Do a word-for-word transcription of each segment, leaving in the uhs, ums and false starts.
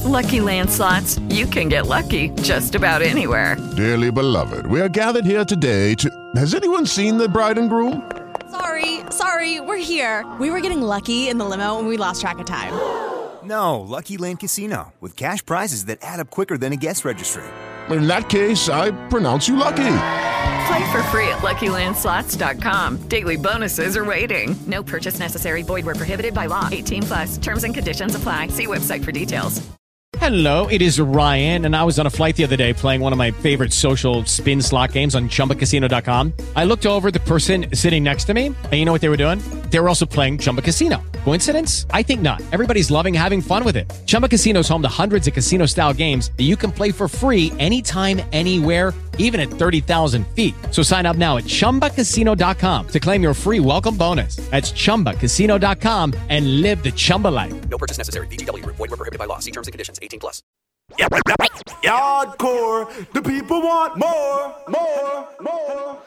Lucky Land Slots, you can get lucky just about anywhere. Dearly beloved, we are gathered here today to... Has anyone seen the bride and groom? Sorry, sorry, we're here. We were getting lucky in the limo and we lost track of time. No, Lucky Land Casino, with cash prizes that add up quicker than a guest registry. In that case, I pronounce you lucky. Play for free at Lucky Land Slots dot com. Daily bonuses are waiting. No purchase necessary. Void where prohibited by law. eighteen plus. Terms and conditions apply. See website for details. Hello, it is Ryan, and I was on a flight the other day playing one of my favorite social spin slot games on Chumba Casino dot com. I looked over at the person sitting next to me, and you know what they were doing? They were also playing Chumba Casino. Coincidence? I think not. Everybody's loving having fun with it. Chumba Casino is home to hundreds of casino-style games that you can play for free anytime, anywhere, even at thirty thousand feet. So sign up now at Chumba Casino dot com to claim your free welcome bonus. That's Chumba Casino dot com and live the Chumba life. No purchase necessary. V G W. Void where prohibited by law. See terms and conditions. eighteen plus. Yardcore. The people want more, more, more.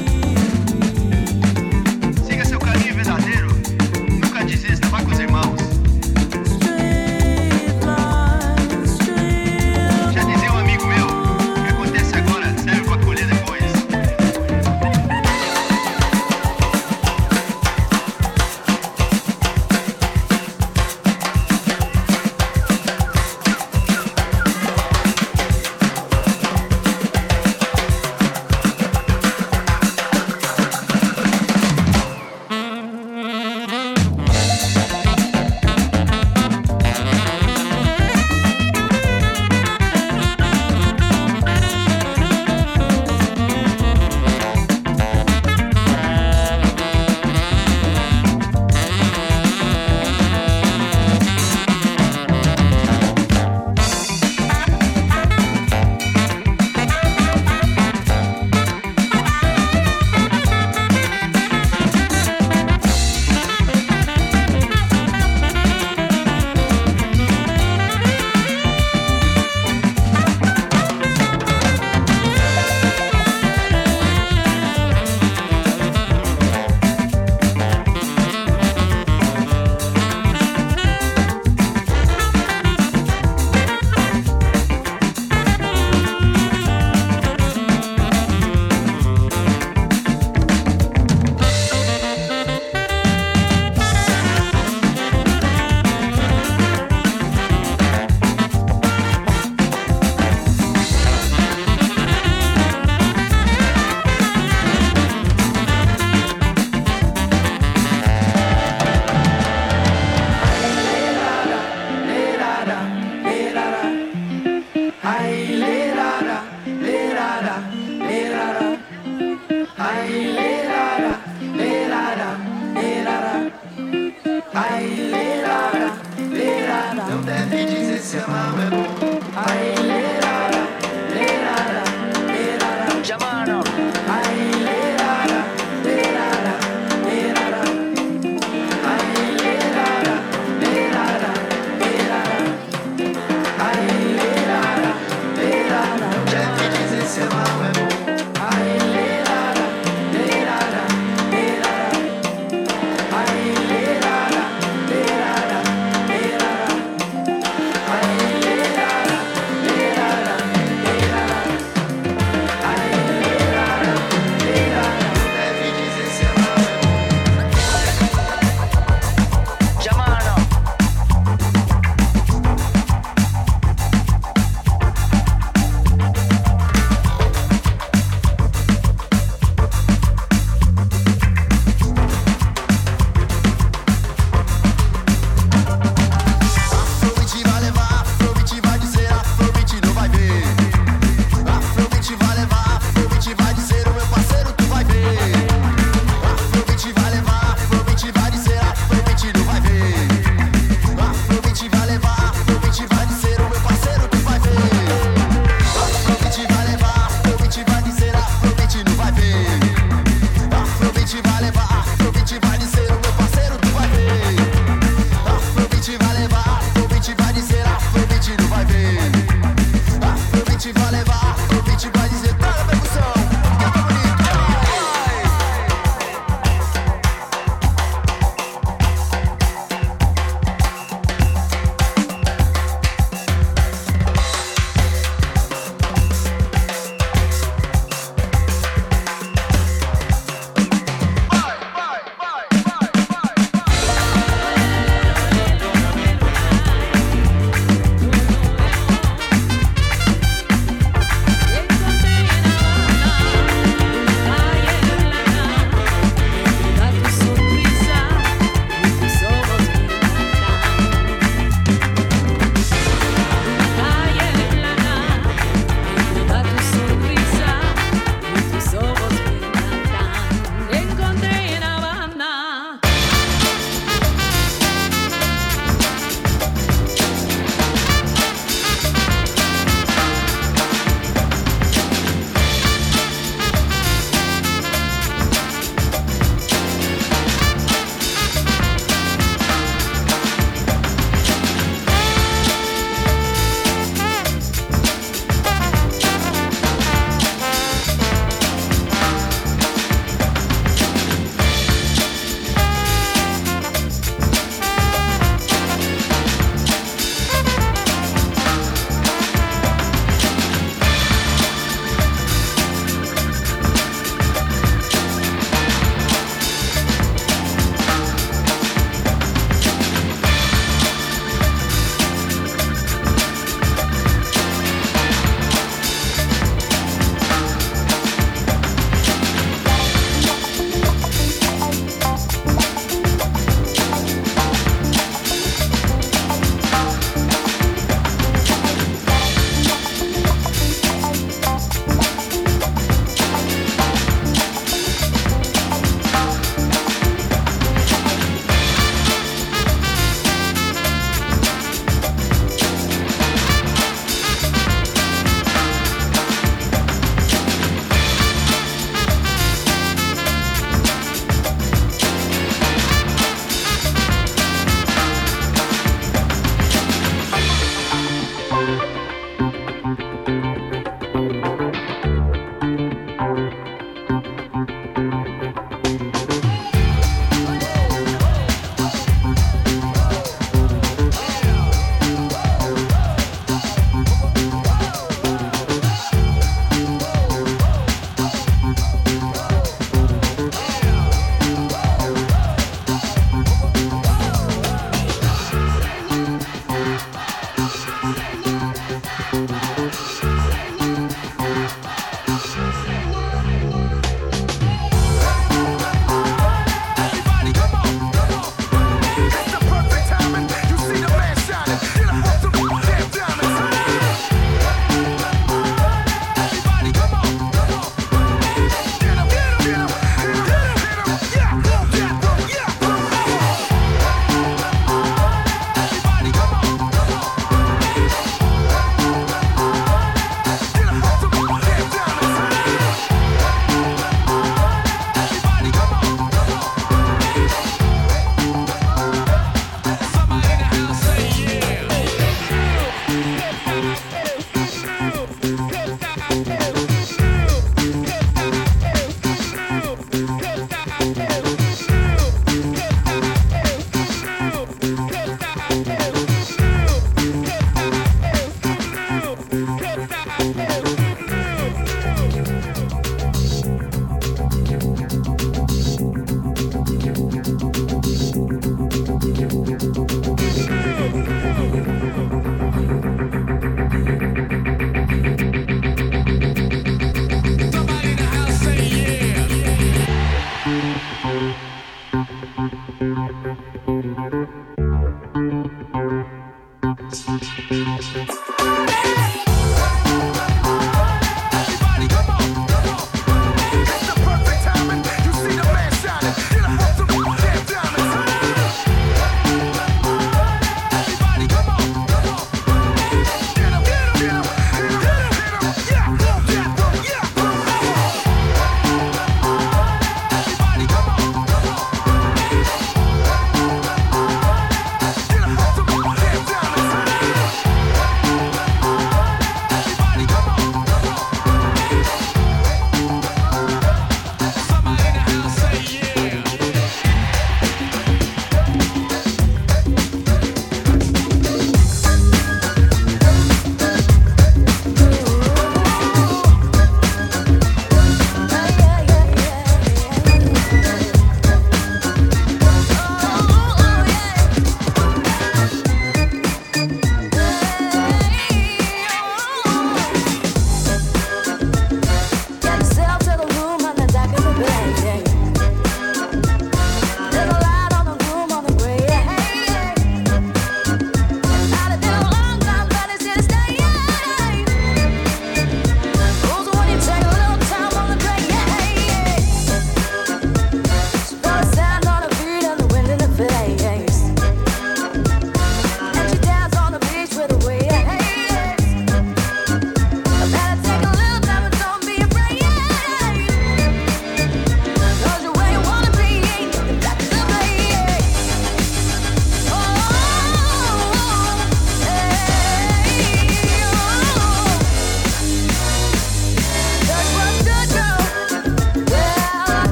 Irmãos. Aí, lerara, lerara, não deve dizer se amar é bom. Aí, lerara, lerara, lerara, chamano. Aí, lerara, lerara, lerara. Aí, lerara, lerara, lerara. Aí, lerara, lerara, não deve dizer se amar é bom. Aí, lerara, lerara, lerara. Aí, lerara, lerara, lerara.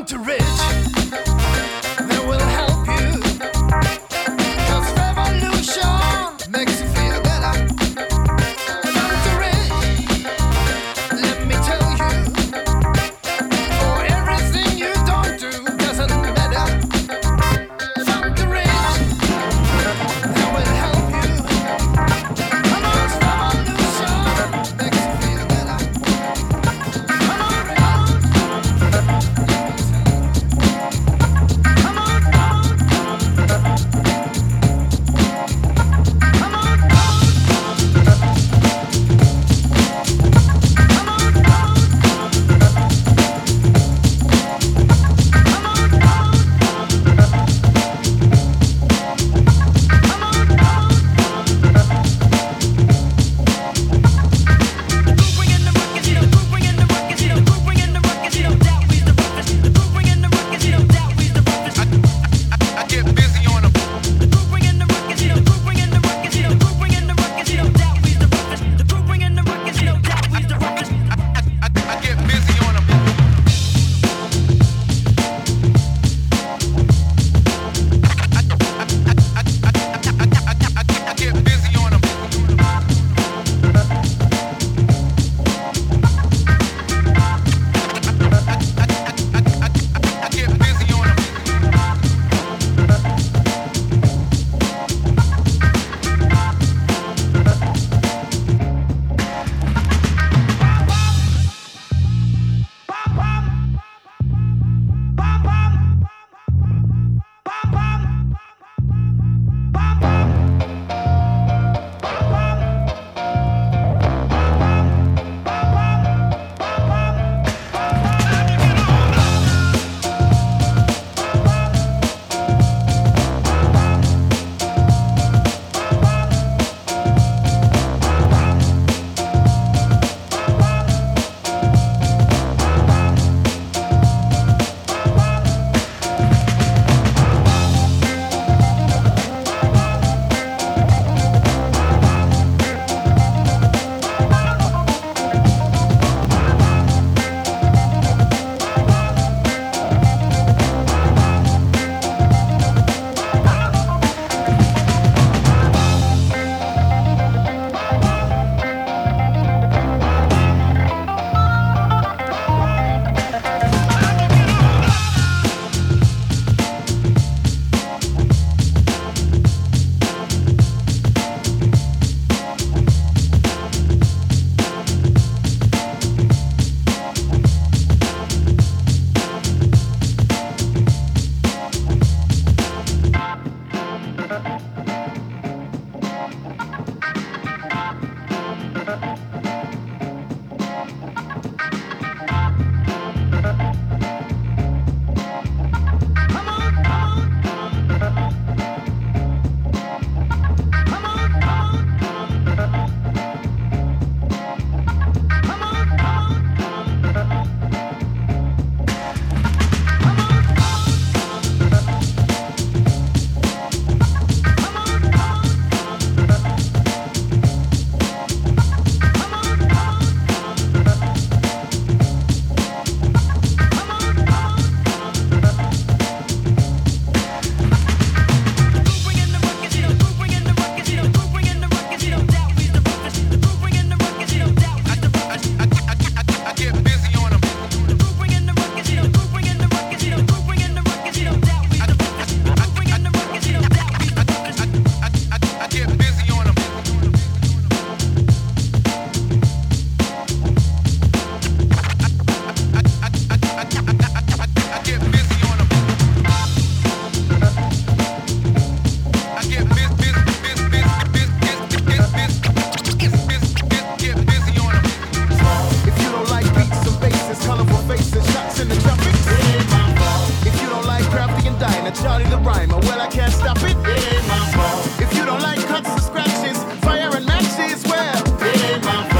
Funk Rich, that will help you. 'Cause revolution makes you feel better. Funk Rich, let me tell you, for everything you don't do doesn't matter. Funk Rich, that will help you. 'Cause revolution makes you feel better. Come on, come on.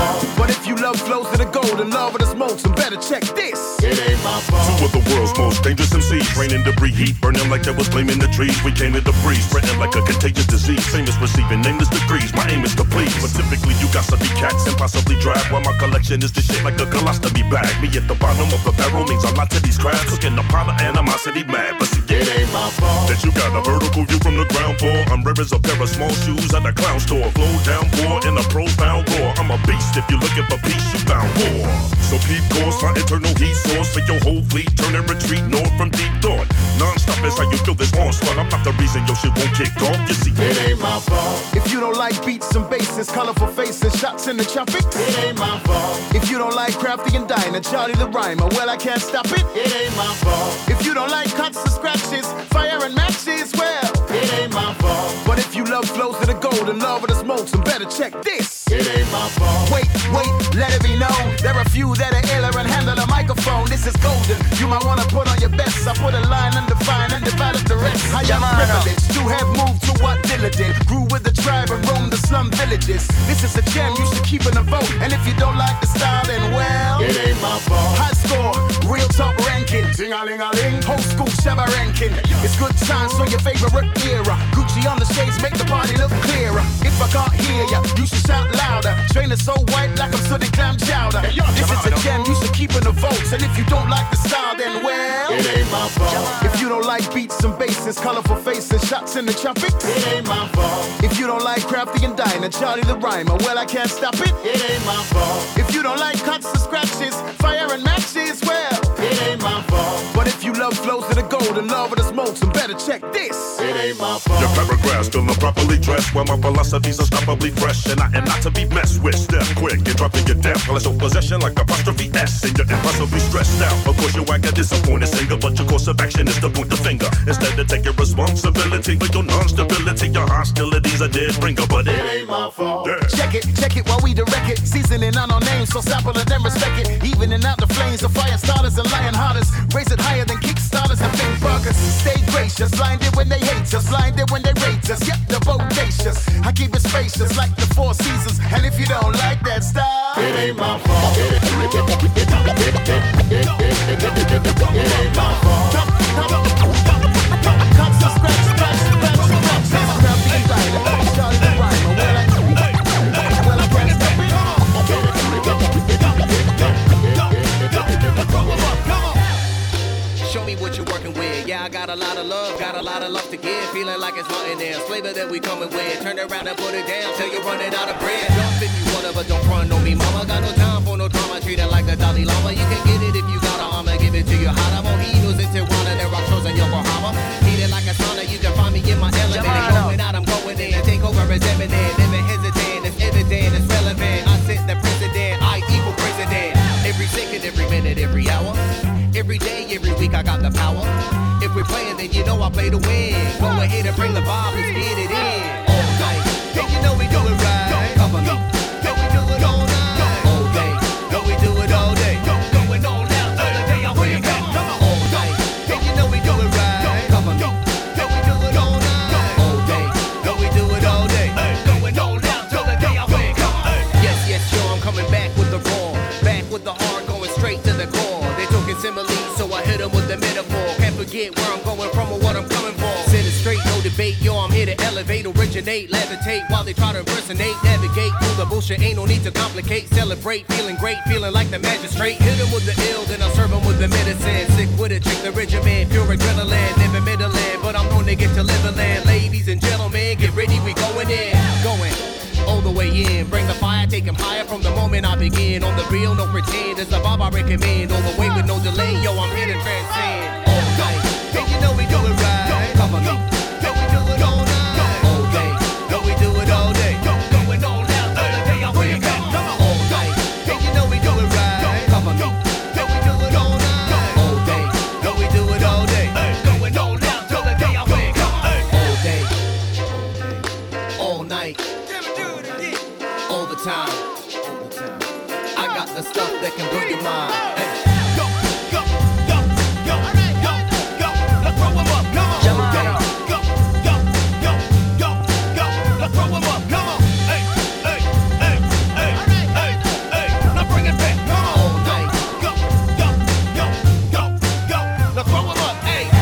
Two of the world's most dangerous M Cs. breeze. Raining debris, heat burning like there was flaming the trees. We came to the breeze, spreading like a contagious disease. Famous receiving nameless degrees. My aim is to please, but typically you got to be cats and possibly drag. While my collection is the shit like a colostomy bag. Me at the bottom of the barrel means a lot to these crabs. Cooking a pot of animosity mad, but see, it ain't my fault that you got a vertical view from the ground floor. I'm rare as a pair of small shoes at a clown store. Flow down poor in a profound roar. I'm a beast. If you're looking for peace, you found war. So keep course, my internal heat source for your whole fleet. Turn and retreat north from deep thought. Non-stop is how you feel this onslaught. I'm not the reason your shit won't kick off. You see, it ain't my fault. If you don't like beats and basses, colorful faces, shots in the traffic, it ain't my fault. If you don't like Crafty and Diner, Charlie the Rhymer, well, I can't stop it. It ain't my fault. If you don't like cuts and scratches, fire and matches, well, it ain't my fault. But if you love flows to the gold and love of the smokes, then better check this. It ain't my fault. Wait, wait, let it be known. There are few that are iller and handle a microphone. This is golden. You might wanna put on your best. I put a line undefined and develop the rest. I am privileged to have moved to what Dilla did. Grew with the tribe and roamed the slum villages. This is a gem, you should keep in the vote. And if you don't like the style, then well, it ain't my fault. High score, real top ranking. Ting-a-ling-a-ling. Whole school Shabba ranking. It's good times for your favorite era. Gucci on the shades make the party look clearer. If I can't hear ya, you should shout louder. Trainer so white like I'm sooty clam chowder. This is a gem, you should keep in the votes. And if you don't like the style, then well, it ain't my fault. If you don't like beats and basses, colorful faces, shots in the traffic, it ain't my fault. If you don't like Crafty and Diner, Charlie the Rhymer, well, I can't stop it. It ain't my fault. If you don't like cuts and scratches, fire and matches, well, it ain't my fault. But if you love flows to the gold and love of the smokes, then better check this. It ain't my fault. Your paragraphs still improperly dressed, while my philosophy's unstoppably fresh, and I am not to be messed with. Step quick and drop in your death, while it's your possession like apostrophe S, and you're impossibly stressed out. Of course, you act a disappointed singer, but your course of action is to point the finger instead of taking responsibility for your non-stability. Your hostilities are dead bringer, but it ain't my fault. Yeah. Check it, check it while we direct it. Seasoning on our names, so sample it and respect it. Evening out the flames of fire starters and lion hearters. Raise it higher than Kickstarters and big burgers. Stay gracious, blinded when they hate us, blinded when they rate us. Yep, they're bodacious. I keep it spacious like the four seasons. And if you don't like that style, it ain't my fault. It ain't my fault. Cuts to scratch, scratch, scratch, scratch. Crafty and Diner, Charlie the Rhymer. Well, I, well, I can't stop it. Show me what you're working with. Yeah, I got a lot of love, got a lot of love to give. Feeling like it's nothing else. Flavor that we coming with. Turn around and put it down till you're running out of bread. Jump if you wanna, but don't front on me, mama. Got no time for no drama. Treat it like the Dalai Lama. You can get it if you got a I'ma give it to you hot. I'm on Mojitos in Tijuana, there are shows in Yokohama. Heated like a sauna, you can find me in my element. Going out, I'm going in. Take over as eminent. Never hesitant, it's evident, it's relevant. I set the precedent, I equal president. Every second, every minute, every hour. Every day, every week, I got the power. If we're playing, then you know I play to win. Go ahead and bring the vibe, let's get it in. All night, and you know we do it right. Cover me, and we do it all night. All day, and we do it all day. Going on now till the day I wake up. All night, and you know we do it right. Cover me, and we do it all night. All day, and we do it all day. Going on now till the day I wake up. Yes, yes, sure, I'm coming back with the raw, back with the hard, going straight to the core. They talking similes, so I hit them with the metaphor. Can't forget where I'm going from or what I'm coming for. Sit it straight, no debate, yo, I'm here to elevate, originate, levitate, while they try to impersonate, navigate through the bullshit, ain't no need to complicate, celebrate, feeling great, feeling like the magistrate. Hit them with the ill, then I'll serve them with the medicine. Sick with a trick, the regimen, pure adrenaline, never middling, but I'm known to get to live a land. Ladies and gentlemen, get ready, we going in, going all the way in. Bring the fire, take him higher from the moment I begin. On the real, no pretend, it's the vibe I recommend. All the way with no delay, yo, I'm here to transcend. All night, and you know we do it right. Cover me, and we do it all night. All day, and we do it all day. Going on now till the day I wake up. All night, and you know we do it right. Cover me, and we do it all night. All day, and we do it all day. Going on now till the day I wake up. All day, all night, all the time. I got the stuff that can blow your mind. Hey. Go, go, go, go, go, go. Let's throw 'em up. Come on. All day. Go, go, go, go, go. Let's throw 'em up. Come on. Hey, hey, hey, hey, hey, hey. Now bring it back. Come on. All night. Go, go, go, go, go. Let's throw 'em up. Hey.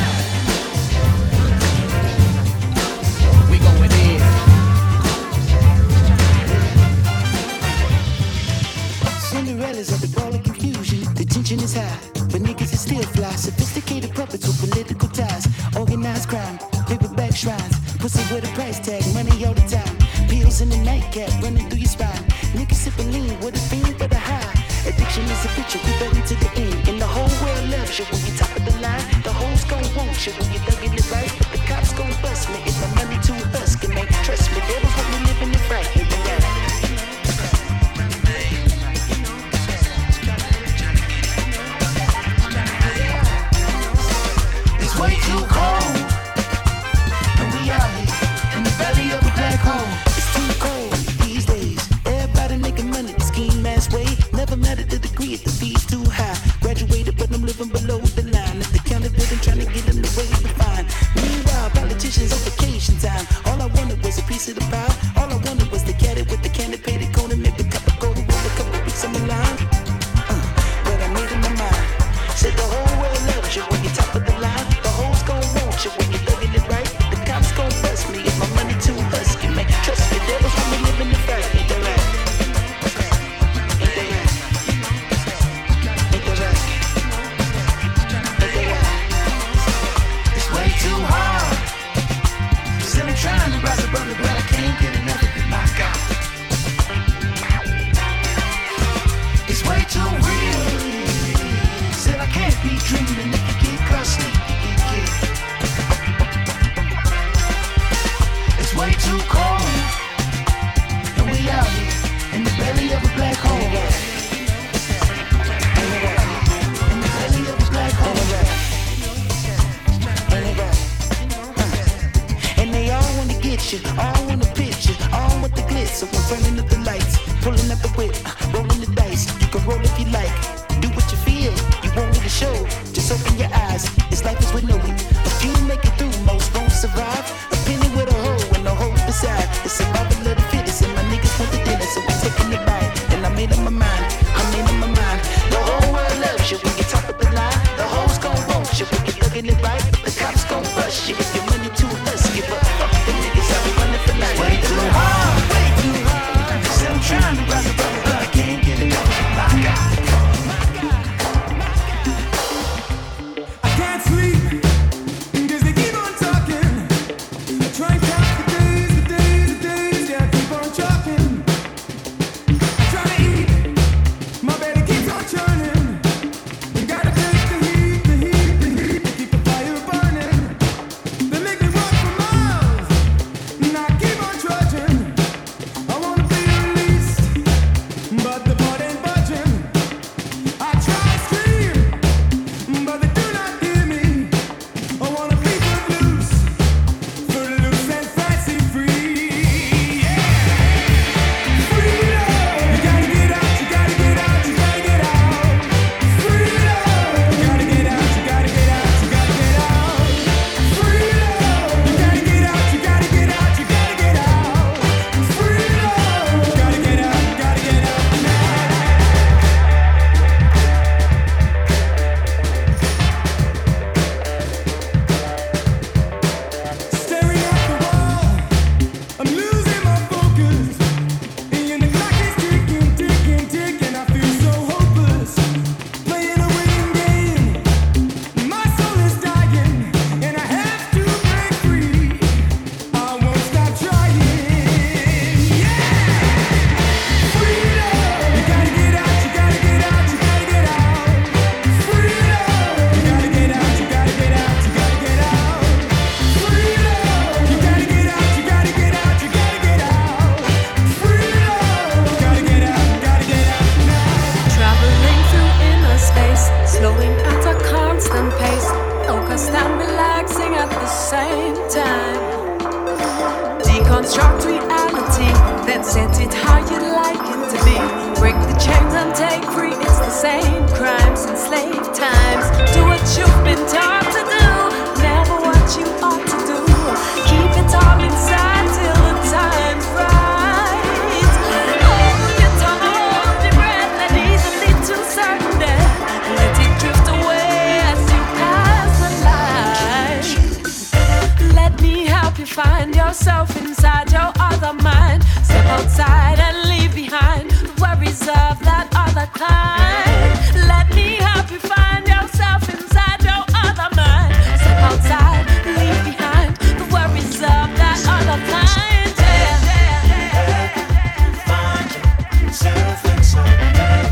Cinderella's at the ball of confusion. The tension is high, but niggas is still fly. Sophisticated puppets with political ties. Organized crime, paperback shrines. Pussy with a price tag, money all the time. Pills in the nightcap, running through your spine. Niggas sipping lean with a fiend for the high. Addiction is a picture, we ready to the end. And the whole world loves you when you top of the line. The hoes gon' want you when you thuggin' it right. The cops gon' bust me if my money too husky, man. Trust me, that was what we living it right. It's way too cold, and we out here in the belly of a black hole. It's too cold these days. Everybody making money the scheme ass way. Never met at the degree if the fee's too high. Graduated, but I'm living below the line. If the county building trying to get in the way to find. Meanwhile, politicians on vacation time. All I wanted was a piece of the pie. All I wanted was the caddy with the candy painted cone and maybe a cup of gold and roll a couple weeks on the line. Uh, but I made up my mind. Said the whole world loves you when you're top of the line. The hoes gon' want you when you're thugging it right. The cops gon' bust me if my money too husky, man. Trust me, that was when we living the right. Ain't that right? Ain't that right? Ain't that right? Ain't that right? It's way too hard. Still I'm trying to rise above it, but I can't get enough of it, my God. It's way too real. Said I can't be dreaming if you get caught sleeping, you get. It's way too cold, and we out here in the belly of a black hole. In the belly of a black hole. And they all wanna get you, all wanna pitch you, all want the glitz. So I'm turning up the lights, pulling up the whip, rolling the dice. You can roll if you like, do what you feel. You want me to show, just open your eyes. It's life as we know it. A few make it through, most won't survive. A penny with a hole and a hole beside. It's survival of the fittest, and my niggas want the dinner, so we taking it bite. And I made up my mind, I made up my mind. The whole world loves you when you top of the line. The hoes gon' want you when you thugging it right. The cops gon' bust you if your money too husky, but fuck the niggas out running for life. Way too hard, way too hard. Still I'm trying to rise above it, but I can't get enough of it, my God. Deconstruct reality, then set it how you'd like it to be. Break the chains and take free, it's the same crimes and slave times. Do what you've been taught to do, never what you ought to do. Keep it all inside till the time's right. Hold your tongue, hold your breath, and easily to certain death. Let it drift away as you pass the light. Let me help you find yourself inside your other mind. Step outside and leave behind the worries of that other other kind. Let me help you find yourself inside your other mind. Step outside, leave behind the worries of that other kind. Yeah. Find yourself inside.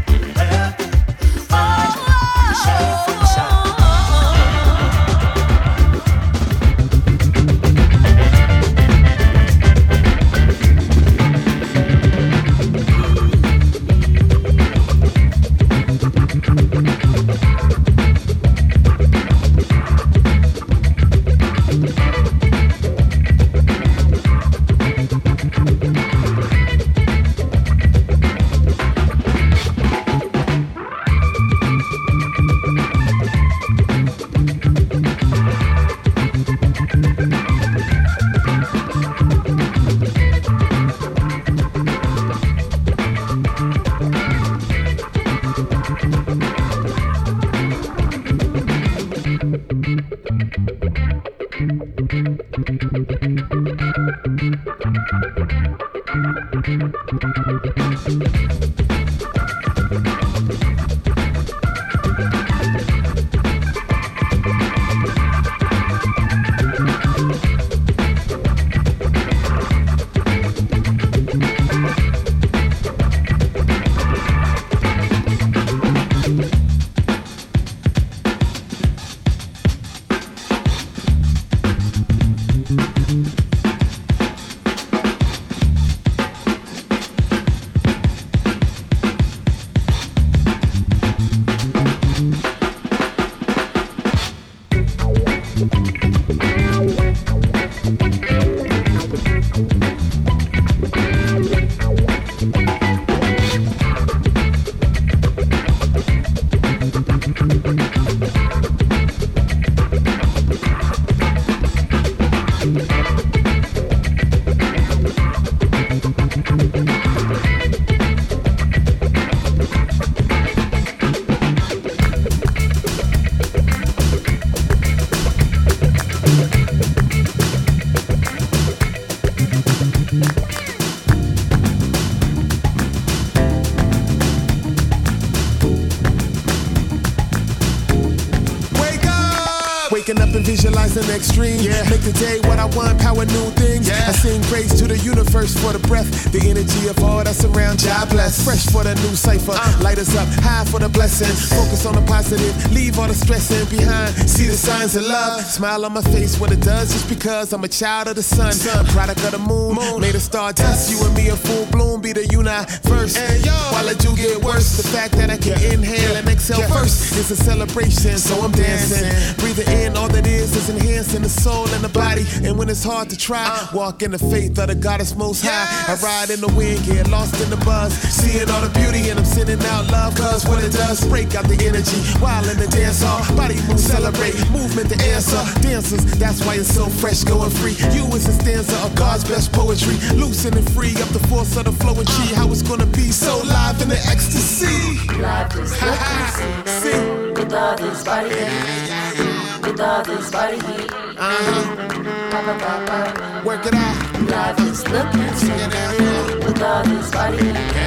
Waking up and visualizing extreme. Yeah. Make the day what I want, power new things. Yeah. I sing praise to the universe for the breath, the energy of all that's around. God bless. Fresh for the new cipher. Uh. Light us up, high for the blessing. Focus on the positive, leave all the stressing behind. See the signs of love. Smile on my face, what it does just because I'm a child of the sun. sun. A product of the moon, moon. Made of stardust. You and me in full bloom, be the universe. And yo, while I do get worse, the fact that I can inhale and exhale yeah. first is a celebration. So I'm dancing, breathing in. All that is is enhancing the soul and the body. And when it's hard to try, uh, walk in the faith of the goddess most high. Yes. I ride in the wind, get lost in the buzz, seeing all the beauty and I'm sending out love. Cause what it does, break out the energy while in the dance hall. Body move, celebrate, movement the answer. Dancers, that's why it's so fresh, going free. You is a stanza of God's best poetry. Loosen and free up the force of the flowing chi. How it's gonna be so live in the ecstasy. Live is look and see. see. With all this body heat. With all this body heat. Uh-huh. Ba, ba, ba, ba. Work it out. Live is look and see. With all this body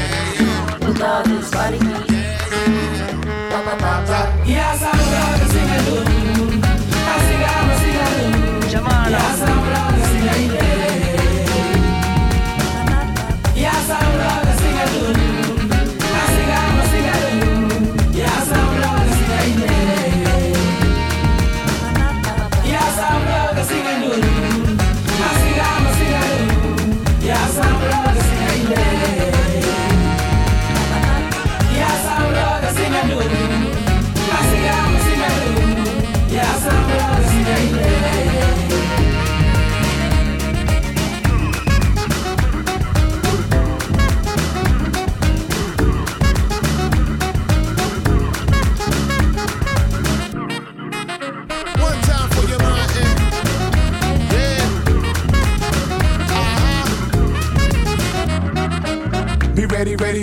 heat. With all this body heat. Ba, ba, ba, ba. Yes, I'm gonna sing a loop. I sing, I'm a sing a loop. Jamala. Yes, I'm gonna sing a loop. Yes, I'm gonna sing a loop. I sing, I'm a sing a loop. Yes, I'm gonna sing a loop. Yes, I'm gonna sing a loop. I sing, I'm a sing a loop. Yes, I'm gonna sing a loop.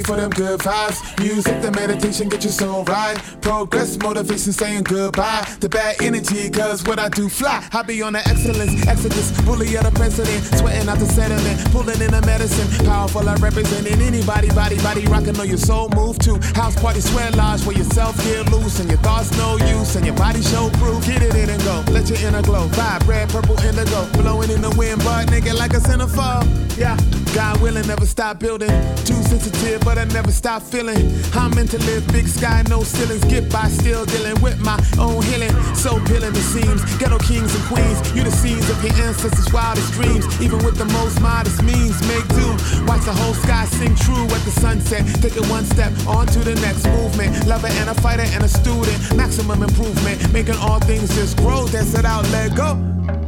for them good vibes. Music, the meditation, get your soul right. Progress, motivation, saying goodbye to bad energy, cause what I do fly. I be on the excellence, exodus, bully of the president, sweating out the sediment, pulling in the medicine. Powerful, I representing anybody, body, body rocking on your soul move to. House party, sweat lodge, where yourself get loose and your thoughts no use and your body show proof. Get it in and go, let your inner glow. Vibe, red, purple, indigo, blowing in the wind, but nigga like a centerfold. Yeah, God willing, never stop building. Too sensitive, but I never stop feeling. I'm meant to live, big sky, no ceilings. Get by, still dealing with my own healing. So peeling it seems. Ghetto kings and queens, you the scenes of your ancestors' wildest dreams. Even with the most modest means, make do. Watch the whole sky sing true at the sunset. Take it one step on to the next movement. Lover and a fighter and a student. Maximum improvement, making all things just grow. Dance it out, let go.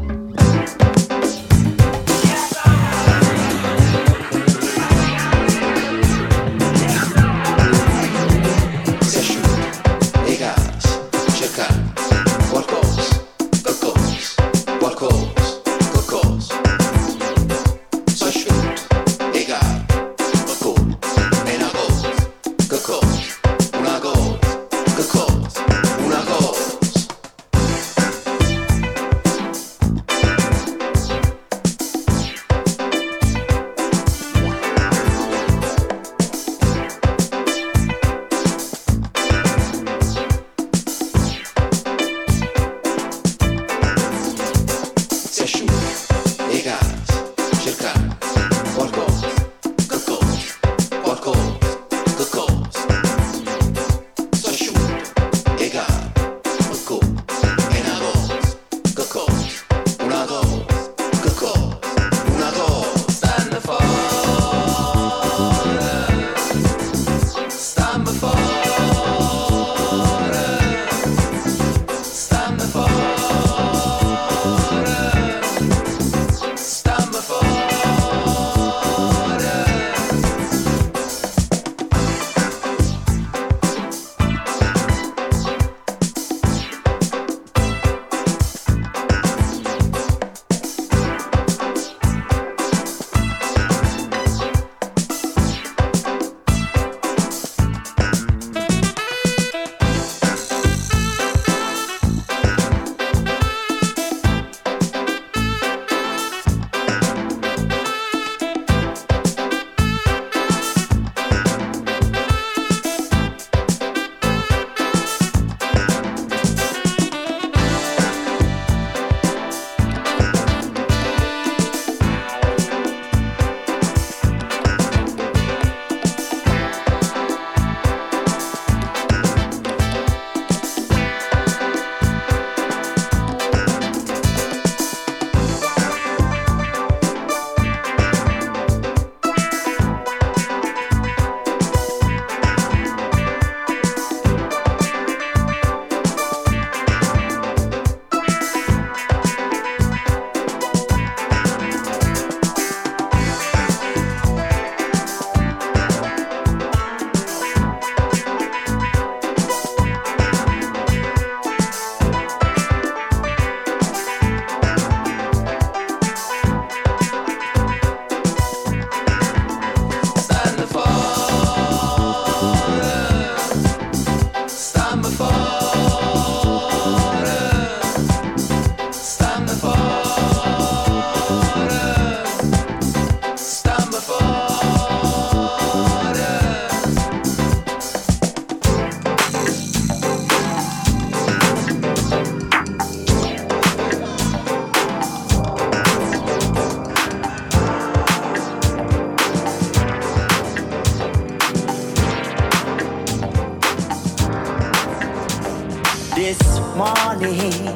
This morning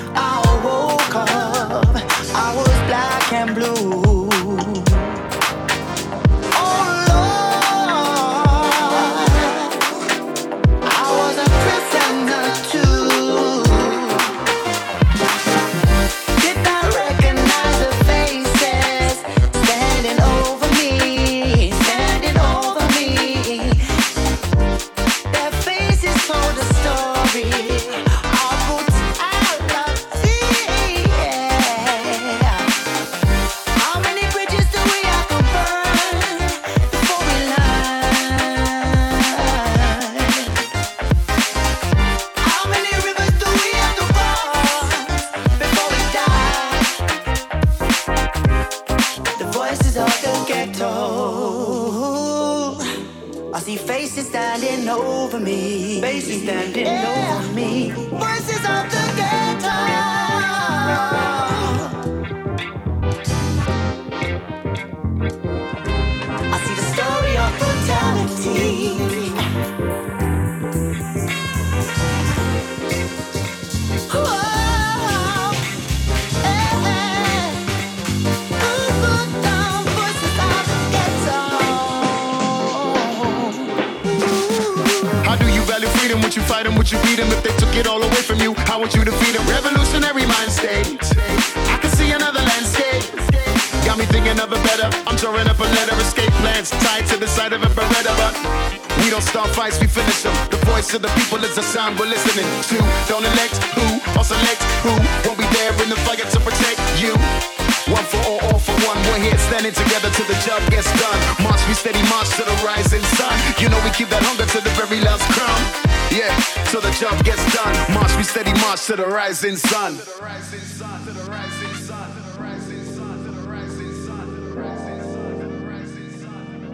I woke up, I was black and blue. Oh Lord, I was a prisoner too. Did I recognize the faces standing over me, standing over me? Their faces told a story. How standing over me. Faces standing yeah. over me. Voices of the ghetto. I see the story of brutality. Would you fight them? Would you beat them if they took it all away from you? How would you defeat them? Revolutionary mind state. I can see another landscape. Got me thinking of a better. I'm drawing up a letter. Escape plans tied to the side of a Beretta. But we don't start fights, we finish them. The voice of the people is a sound we're listening to. Don't elect who or select who won't be there in the fight to protect you. One for all, all for one. We're here standing together till the job gets done. March, we steady march to the rising sun. You know we keep that hunger to the very last crumb. Yeah, till the job gets done. March, we steady march to the rising sun. To the rising sun, to the rising sun, to the rising sun, to the rising sun, to the rising sun, to the rising sun.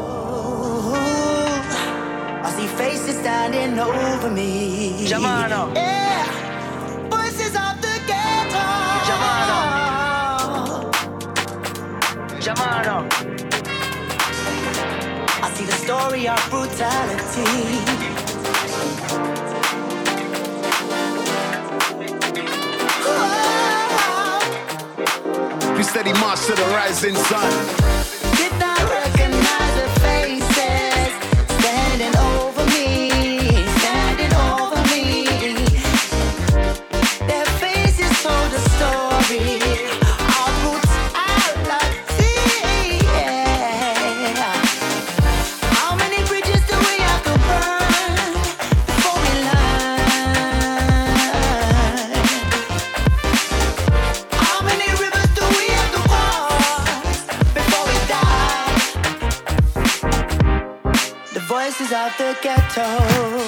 Oh, I see faces standing over me. Jamano. Yeah, voices of the ghetto. Jamano. Jamano. I see the story of brutality. We steady march to the rising sun. Did not recognize the faces standing over me, standing over me. Their faces told a story of brutality. Yeah. How many bridges do we have to burn before we learn? How many rivers do we have to cross before we die? The voices of the ghetto.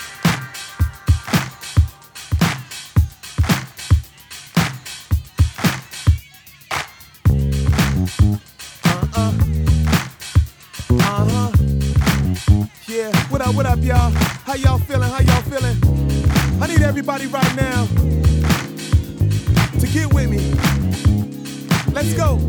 Uh-huh. Yeah, what up, what up, y'all? How y'all feeling? How y'all feeling? I need everybody right now to get with me. Let's go.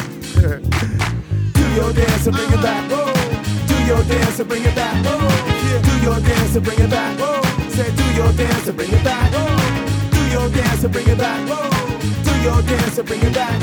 Do your dance and bring it back. Do your dance and bring it back. Yeah. Do your dance and bring it back. Say, do your dance and bring it back. Do your dance and bring it back. Do your dance and bring it back.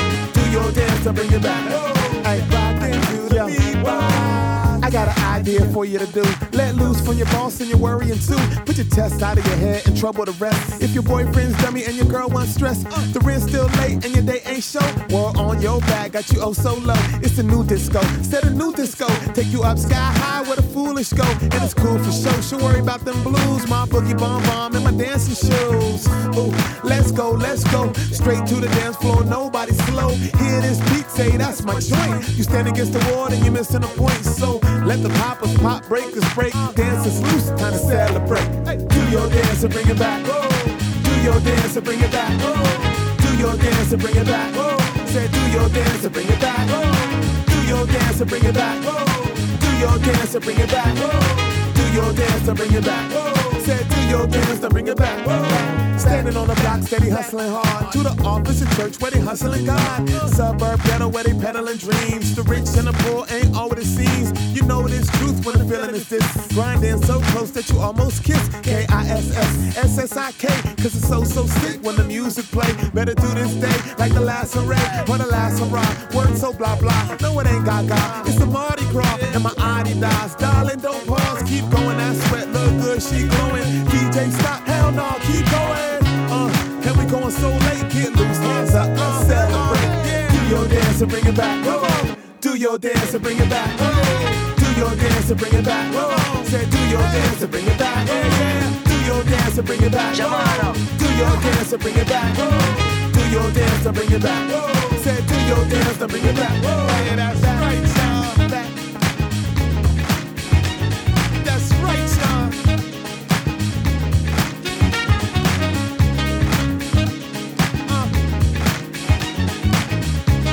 Do your dance and bring it back. Hey, rock into the beat. I got an idea for you to do. Let loose from your boss and your worrying too. Put your test out of your head and trouble the rest. If your boyfriend's dummy and your girl wants stress, the rent's still late and your date ain't show. War on your back, got you oh so low. It's a new disco, set a new disco. Take you up sky high where the foolish go. And it's cool for show, she'll worry about them blues. My boogie bomb bomb and my dancing shoes. Ooh, let's go, let's go. Straight to the dance floor, nobody slow. Hear this beat, say that's my joint. You stand against the wall and you're missing a point. So let the poppers pop, breakers break. Dance is loose, time to celebrate. Hey, do your dance and bring it back. Do your dance and bring it back. Do your dance and bring it back. Say, do your dance and bring it back. Do your dance and bring it back. Do your dance and bring it back. Do your dance and bring it back. Say, do your dance and bring it back. Standing on the block, steady hustling hard. To the office and church where they hustling God. Suburb ghetto where they peddling dreams. The rich and the poor ain't all what it seems. You know this truth when the feeling is this. Grinding so close that you almost kiss. K I S S S S I K. Cause it's so, so sick when the music play. Better do this day like the last hooray or the last hurrah. Word so blah blah. No, it ain't gaga. It's the Mardi Gras and my Adidas. Darling, don't pause. Keep going. That sweat look good. She glowing. D J stop. Hell no. Keep going. Uh, and we going so late. Get loose. Hands up. Let's celebrate. Do your dance and bring it back. Come on. Do your dance and bring it back. Do your dance and bring it back. Say, do your dance and bring it back. Do your dance and bring it back. Do your dance and bring it back. Do your dance and bring it back. Say, do your dance and bring it back. Yeah, that's right, y'all. That's right, y'all.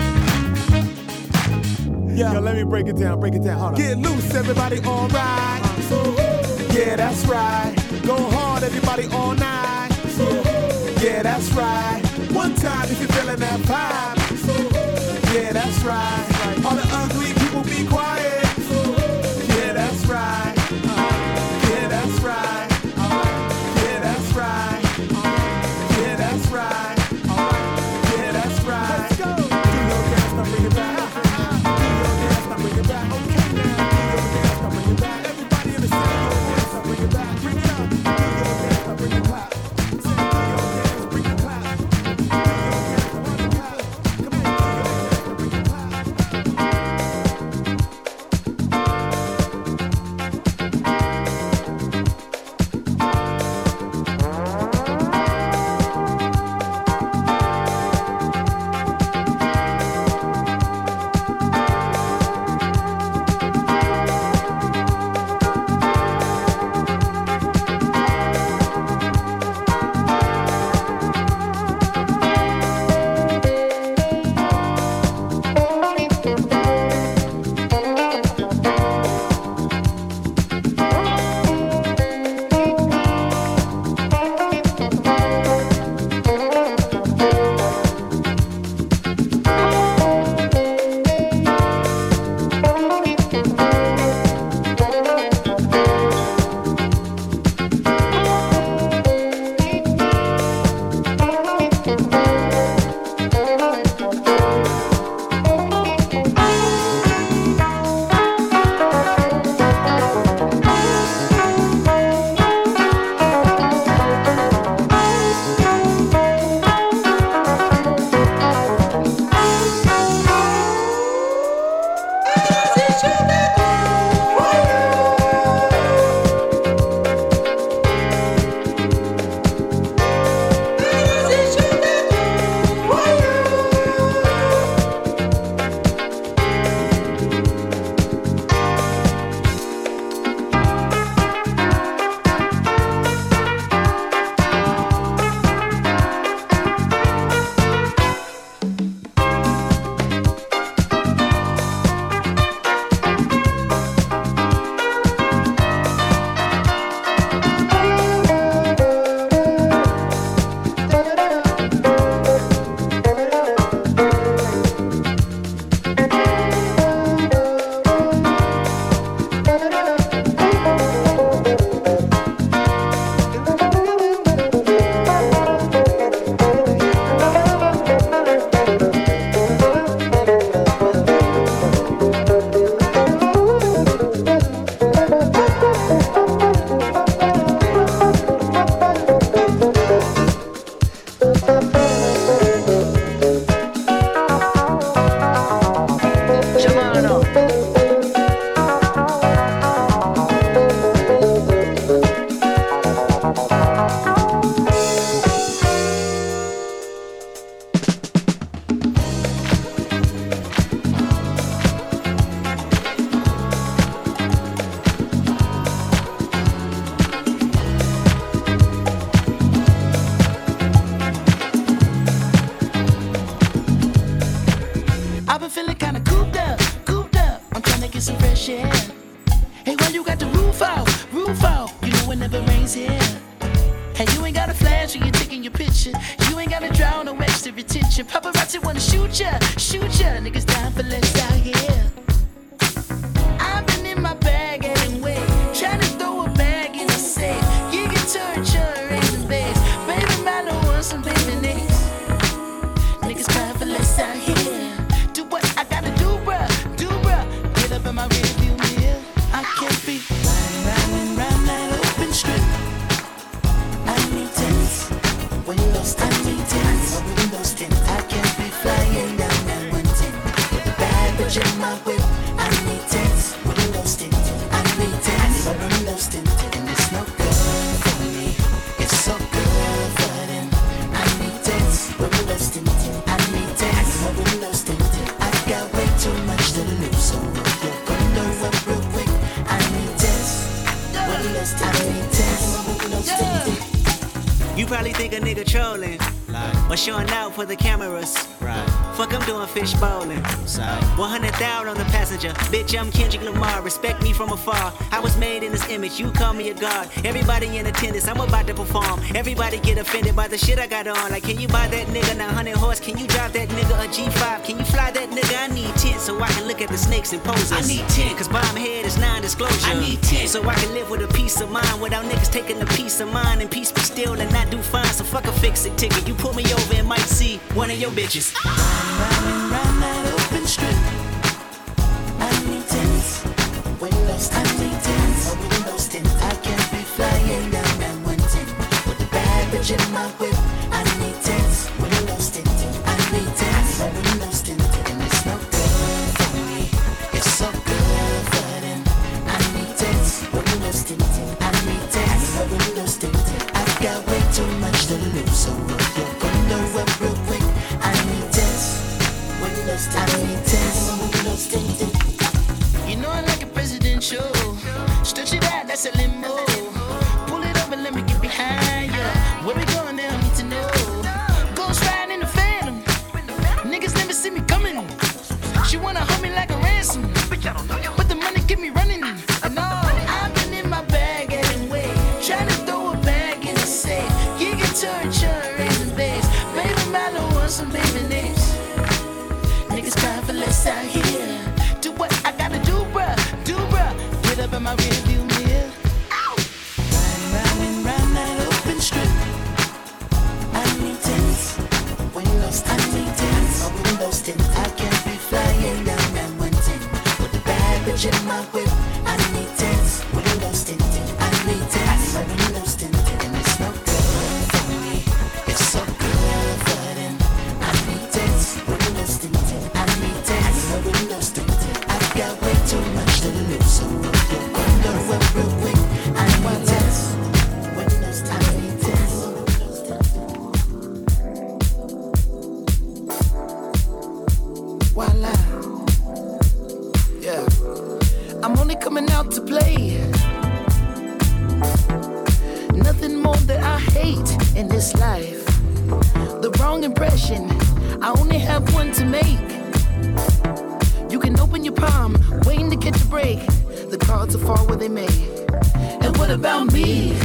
Yeah. Yo, let me break it down, break it down. Hold on. Get loose, everybody, all right. Yeah, that's right. Go hard, everybody, all night. Yeah, that's right. One time if you're feeling that vibe. Yeah, that's right. All the ugly people be quiet. Yeah, that's right. Yeah, that's right. Yeah, that's right. Yeah, that's right. Yeah, that's right. Let's go. Do your dance, now bring it back. Do your dance, now bring it back. Okay, now. Do your dance, now bring it back. Everybody in the center, do your dance, now bring it back. Bring it up. Do your dance, now bring it clap. Do your dance, bring it clap. Do your dance, now bring it clap. Come on, do your dance, now bring it clap. You probably think a nigga trolling. Or showing out for the cameras. Right. Fuck, I'm doing fish bowling. one hundred thousand on the passenger. Bitch, I'm Kendrick Lamar. Respect me from afar. I was made in this image. You call me a god. Everybody in attendance. I'm about to perform. Everybody get offended by the shit I got on. Like, can you buy that nigga nine hundred horse? Can you drive that nigga a G five? Can you fly that nigga? I need ten so I can look at the snakes and poses. I need ten cause bomb head is non-disclosure. I need ten so I can live with a peace of mind without niggas taking the peace of mind and peace be still and not do fine. So fuck a fix-it ticket. You pull me over and might see one of your bitches. Round round that open strip. I need tents. Windows I need tents. Windows tint. I can't be flying down that one ten with the bad bitch in my whip. I need tents. Windows tint. I need tents. Windows tint. And it's no good for me. It's so good for them. I need tents. Windows tint. I need tents. Windows tint. I've got way too much to lose, so roll your window up real quick. I need tents. Windows tint. I need tents. Windows tint. You know I like a presidential. Stretch it out, that's a limo. Pull it up and let me get behind you. Where we going there, I need to know. Ghost riding in the Phantom. Niggas never see me coming. She wanna hold me like a ransom. But the money keep me running. And all I've been in my bag anyway. Trying to throw a bag in the safe. You get to insurance and base. Baby, Milo wants some baby names. Niggas crying for less out here. Do what I gotta do, bruh. Do, bruh. Get up in my rearview mirror. Round and round that open strip. I need tents. Windows, I need tents. Windows tint. I can't be flying down that one ten with the bad bitch in my whip. I need tents. Windows tint. I need tents. Windows tint. And it's no good for me. It's so good for them. I need tents. Windows tint. I need tents. Windows tint. I've got way too much to lose, so roll your window up real quick. I need tents. Windows tint. I need tents. Voila. Yeah. I'm only coming out to play. Nothing more that I hate in this life. The wrong impression. I only have one to make. You can open your palm, waiting to catch a break. The cards will fall where they may. And what about me?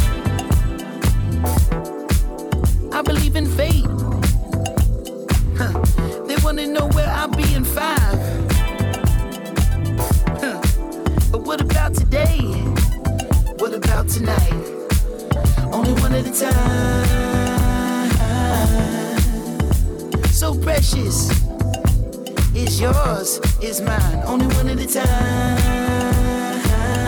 I believe in fate. Huh. They wanna know where I'll be in five. Huh. But what about today? What about tonight? Only one at a time. So precious. It's yours, it's mine. Only one at a time.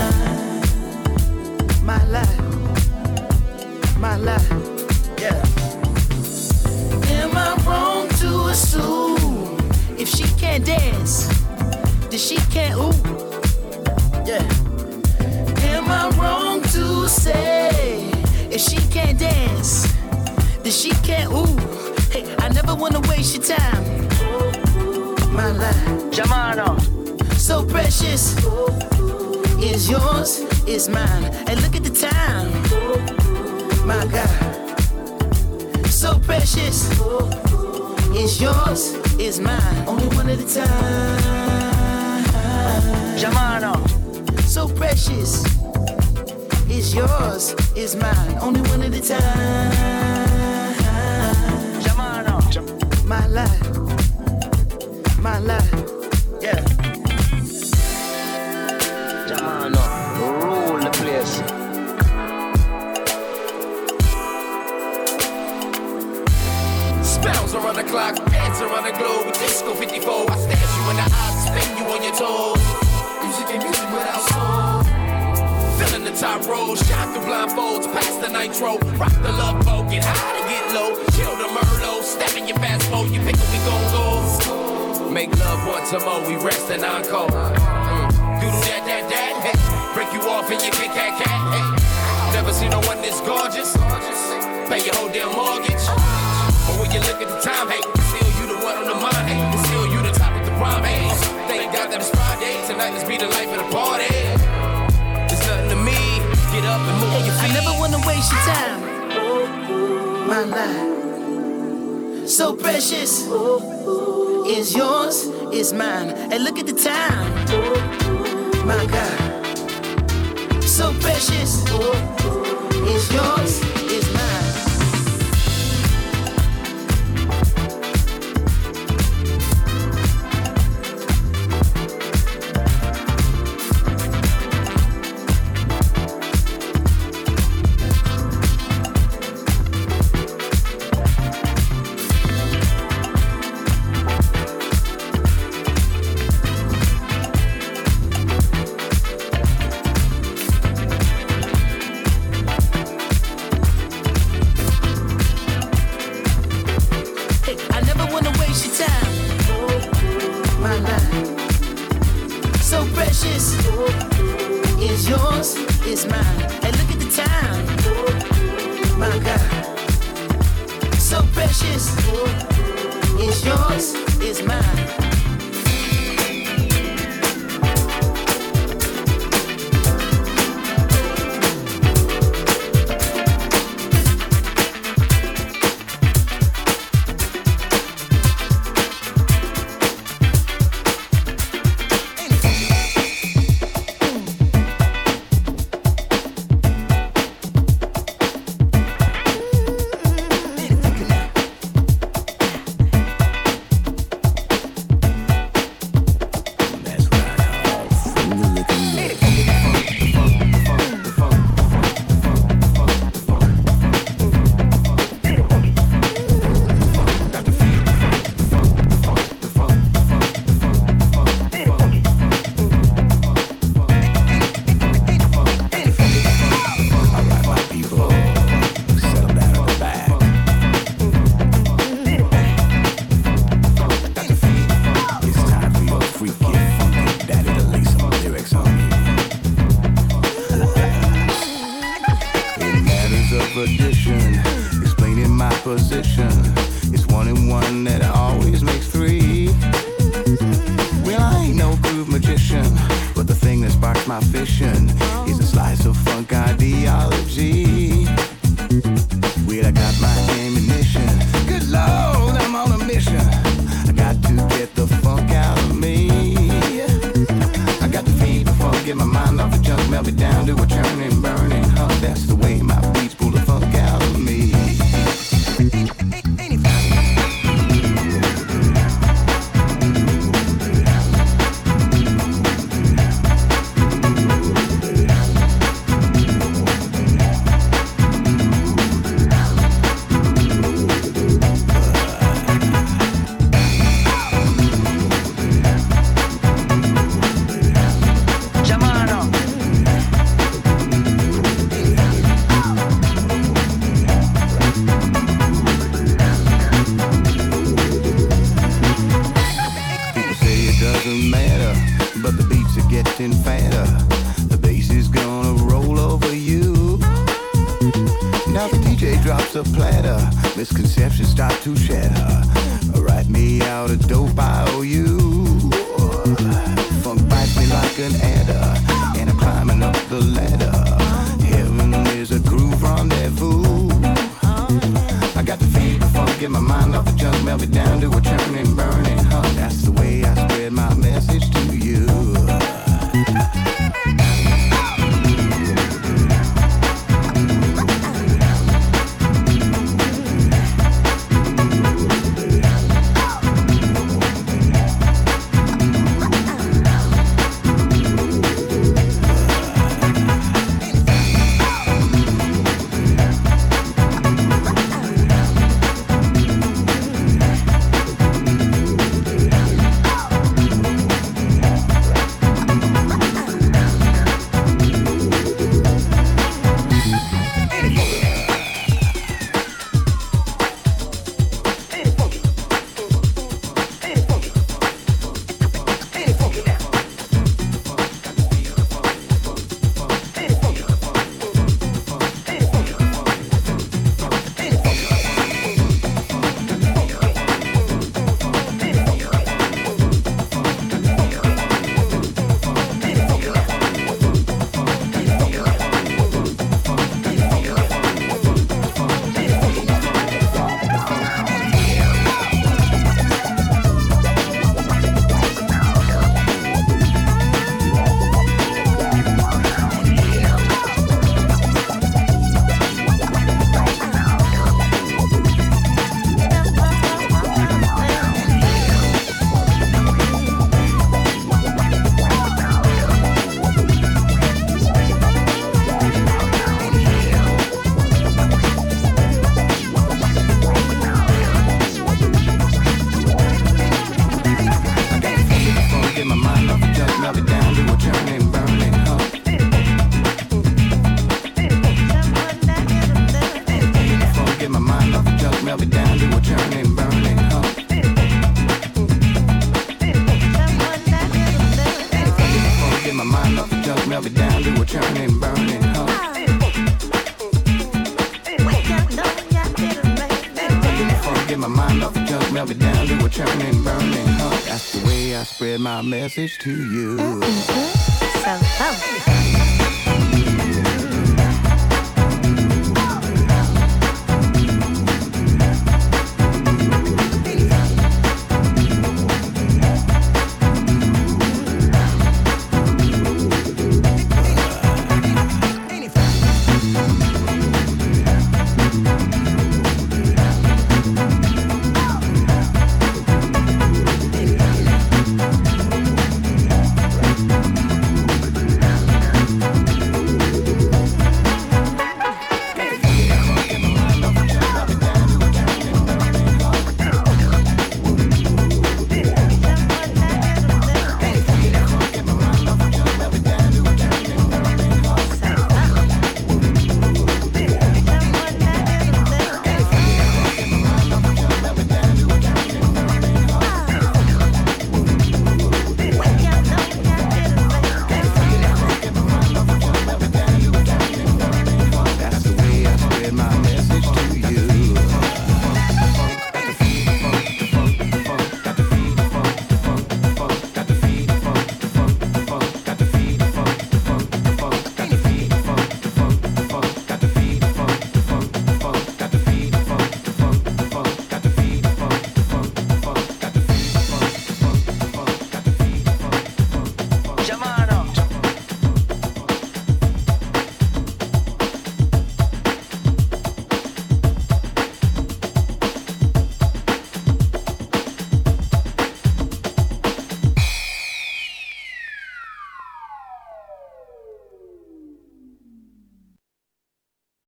My life. My life. Yeah. Am I wrong to assume if she can't dance, then she can't ooh? Yeah. Am I wrong to say if she can't dance, then she can't ooh? Hey, I never wanna waste your time. My life, Jamano, so precious. Is yours, is mine. And look at the time. My God. So precious. Is yours, is mine. Only one at a time. Jamano. So precious. Is yours, is mine. Only one at a time. Jamano. My life. My life. Yeah. Jamano. Rule the place. Spells around the clock, dance around the globe with Disco fifty-four. I stash you in the eyes, spin you on your toes. Music and music without soul. Filling the top row, shine through blindfolds, past the nitro. Rock the love boat, get high to get low. Chill the Merlot, step in your fast boat. You pick up, we gon' go. Make love once more, we rest and encore. Mm. Doodle that, that, that, hey. Break you off in your Kit Kat cat, hey. Never seen no one this gorgeous. Pay your whole damn mortgage. But when you look at the time, hey, still you the one on the mind, hey. Still you the top of the rhyme, hey. Thank God that it's Friday, tonight let's be the life of the party. It's nothing to me, get up and move your feet. I never wanna waste your time. My life, so precious. Is yours, is mine. And look at the time. My God. So precious. Is yours, is mine. melt it down to a churning, burning heart. That's the way I spread my message to you. So, oh.